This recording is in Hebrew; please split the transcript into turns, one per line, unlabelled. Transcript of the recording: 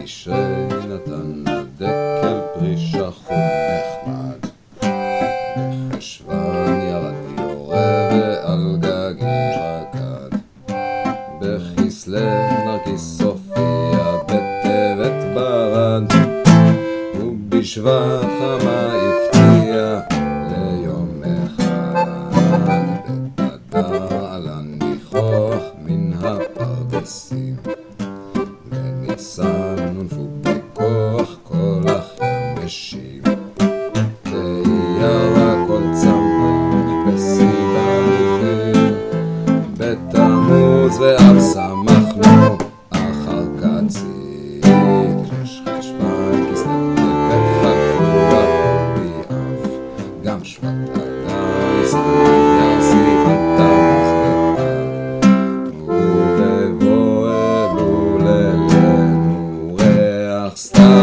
בתשרי נתן דקל פרי שחור נחמד. בחשוון ירד יורה ועל גגי רקד. בכסלו נרקיס הופיע בטבת ברד. ובשבט חמה הפתיע ליום אחד. בבדר עלה ניחוח מן הפרדסים. בניסן הונפו בכוח כל החרמשים. וירק כל צמח בסיבה מחיר. בתמוז ואב שמחנו אחר קצית. שש חשוון כסלו טבת חלפו באב. גם שבט אדר ישראל ירסי בתמוז ובבוא אלו לילנו ריח סתיו.